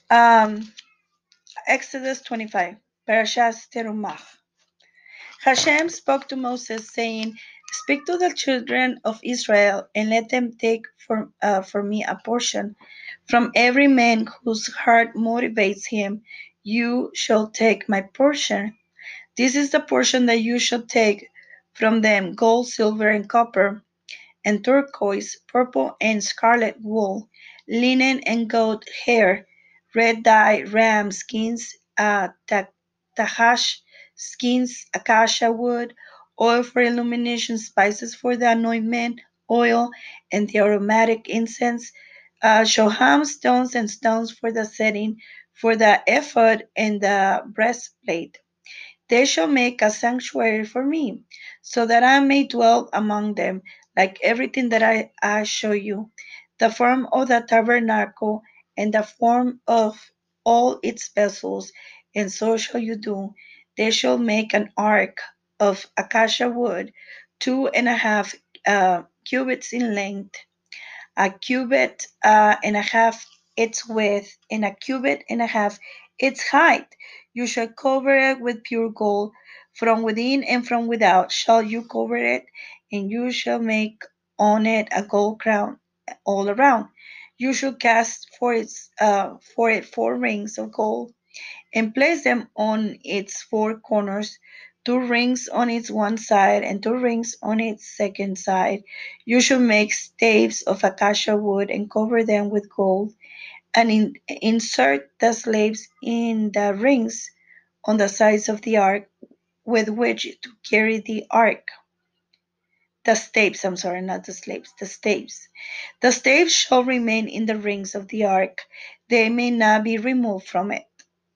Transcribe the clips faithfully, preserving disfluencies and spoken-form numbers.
Um, Exodus twenty-five, Parashas Terumah. Hashem spoke to Moses, saying, "Speak to the children of Israel, and let them take for, uh, for me a portion. From every man whose heart motivates him, you shall take my portion. This is the portion that you shall take from them: gold, silver, and copper, and turquoise, purple, and scarlet wool, linen and goat hair, red dye, ram skins, uh, ta- tahash skins, acacia wood, oil for illumination, spices for the anointment oil, and the aromatic incense, uh, shoham stones and stones for the setting, for the ephod and the breastplate. They shall make a sanctuary for me, so that I may dwell among them, like everything that I, I show you. The form of the tabernacle and the form of all its vessels, and so shall you do. They shall make an ark of acacia wood, two and a half uh, cubits in length, a cubit uh, and a half its width, and a cubit and a half its height. You shall cover it with pure gold. From within and from without shall you cover it, and you shall make on it a gold crown all around. You shall cast for its uh, for it four rings of gold, and place them on its four corners, two rings on its one side and two rings on its second side. You shall make staves of acacia wood and cover them with gold, and in, insert the slaves in the rings on the sides of the ark with which to carry the ark. The staves, I'm sorry, not the slaves, the staves. The staves shall remain in the rings of the ark, they may not be removed from it.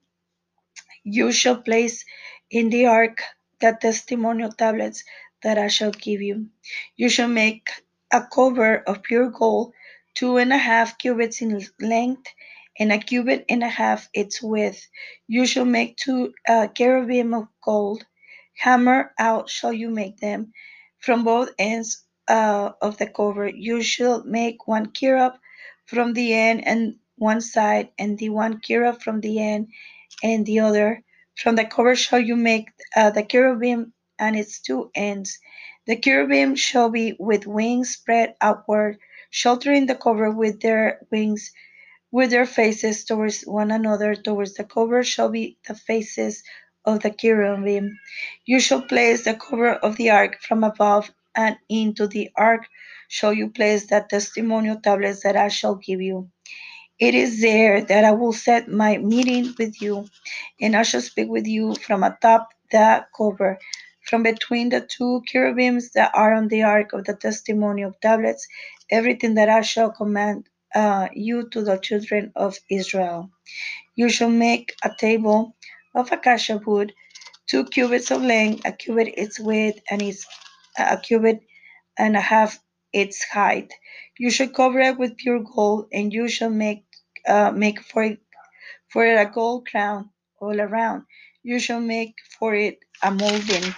You shall place in the ark the testimonial tablets that I shall give you. You shall make a cover of pure gold, two and a half cubits in length, and a cubit and a half its width. You shall make two uh, cherubim of gold. Hammer out shall you make them from both ends uh, of the cover. You shall make one cherub from the end and one side, and the one cherub from the end and the other. From the cover shall you make uh, the cherubim and its two ends. The cherubim shall be with wings spread outward, sheltering the cover with their wings, with their faces towards one another. Towards the cover shall be the faces of the cherubim. You shall place the cover of the ark from above, and into the ark shall you place the testimonial tablets that I shall give you. It is there that I will set my meeting with you, and I shall speak with you from atop the cover, from between the two cherubims that are on the ark of the testimony of tablets, everything that I shall command uh, you to the children of Israel. You shall make a table of acacia wood, two cubits of length, a cubit its width, and its a cubit and a half its height. You shall cover it with pure gold, and you shall make uh, make for it for it a gold crown all around. You shall make for it a molding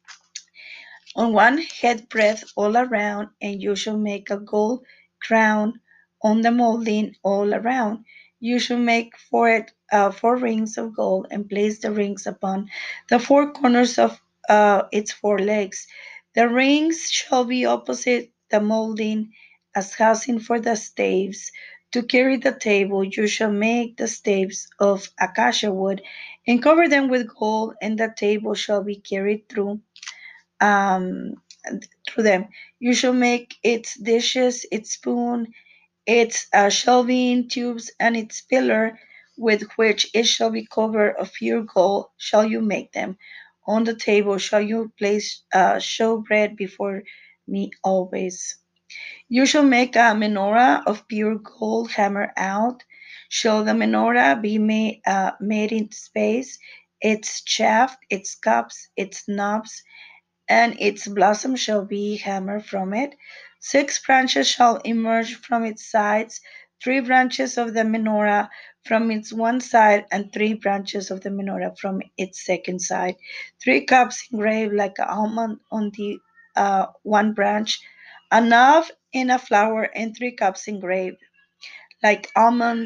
on one head breadth all around, and you shall make a gold crown on the molding all around. You shall make for it uh, four rings of gold, and place the rings upon the four corners of uh, its four legs. The rings shall be opposite the molding as housing for the staves. To carry the table, you shall make the staves of acacia wood, and cover them with gold, and the table shall be carried through um, through them. You shall make its dishes, its spoon, its uh, shelving tubes, and its pillar, with which it shall be covered of pure gold, shall you make them. On the table shall you place uh, showbread before me always. You shall make a menorah of pure gold hammered out. Shall the menorah be made, uh, made in space, its shaft, its cups, its knobs, and its blossom shall be hammered from it. Six branches shall emerge from its sides, three branches of the menorah from its one side, and three branches of the menorah from its second side. Three cups engraved like an almond on the uh, one branch, a knob and a flower, and three cups engraved like almonds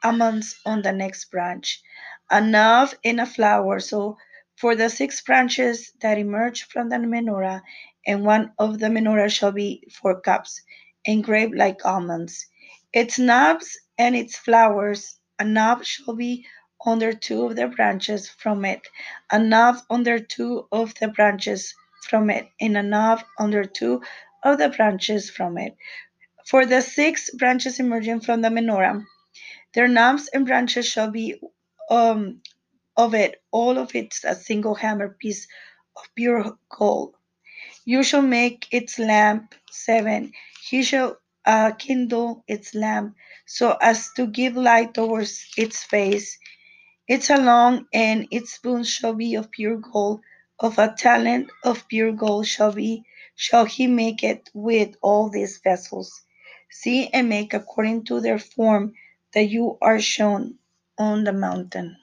almonds on the next branch, a knob and a flower. So for the six branches that emerge from the menorah, and one of the menorah shall be four cups, engraved like almonds. Its knobs and its flowers, a knob shall be under two of the branches from it, a knob under two of the branches from it, and a knob under two of the branches from it. For the six branches emerging from the menorah, their knobs and branches shall be um, of it, all of it a single hammer piece of pure gold. You shall make its lamp seven. He shall uh, kindle its lamp so as to give light towards its face. Its along and its spoons shall be of pure gold. Of a talent of pure gold shall be shall he make it with all these vessels. See and make according to their form that you are shown on the mountain.